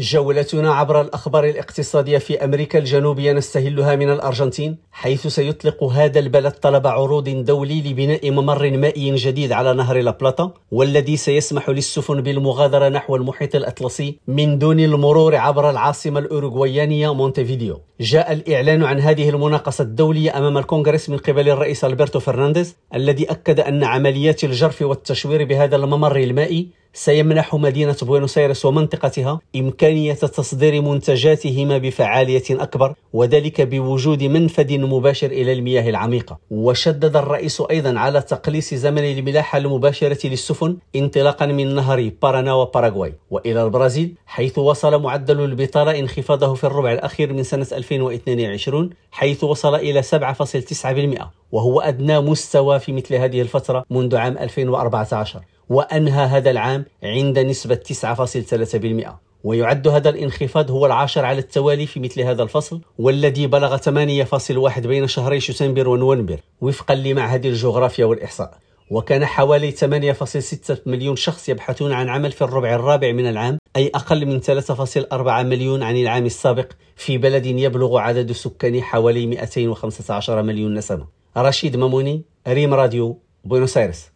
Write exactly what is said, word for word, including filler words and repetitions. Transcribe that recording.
جولتنا عبر الأخبار الاقتصادية في أمريكا الجنوبية نستهلها من الأرجنتين، حيث سيطلق هذا البلد طلب عروض دولي لبناء ممر مائي جديد على نهر لابلاتا، والذي سيسمح للسفن بالمغادرة نحو المحيط الأطلسي من دون المرور عبر العاصمة الأوروغوايانية مونتيفيديو. جاء الإعلان عن هذه المناقصة الدولية أمام الكونغرس من قبل الرئيس ألبرتو فرنانديز، الذي أكد أن عمليات الجرف والتشوير بهذا الممر المائي سيمنح مدينة بوينوس آيرس ومنطقتها إمكانية تصدير منتجاتهما بفعالية أكبر، وذلك بوجود منفذ مباشر إلى المياه العميقة. وشدد الرئيس أيضا على تقليص زمن الملاحة المباشرة للسفن انطلاقا من نهر بارانا وباراغواي وإلى البرازيل، حيث وصل معدل البطالة انخفاضه في الربع الأخير من سنة ألفين واثنين وعشرين، حيث وصل إلى سبعة فاصلة تسعة بالمئة، وهو أدنى مستوى في مثل هذه الفترة منذ عام ألفين وأربعة عشر، وأنهى هذا العام عند نسبة تسعة فاصلة ثلاثة بالمئة. ويعد هذا الانخفاض هو العاشر على التوالي في مثل هذا الفصل، والذي بلغ ثمانية فاصلة واحد بين شهري شتنبر ونوفمبر وفقا لمعهد الجغرافيا والإحصاء. وكان حوالي ثمانية فاصلة ستة مليون شخص يبحثون عن عمل في الربع الرابع من العام، أي أقل من ثلاثة فاصلة أربعة مليون عن العام السابق، في بلد يبلغ عدد سكانه حوالي مئتين وخمسة عشر مليون نسمة. رشيد ماموني، ريم راديو، بوينوس آيرس.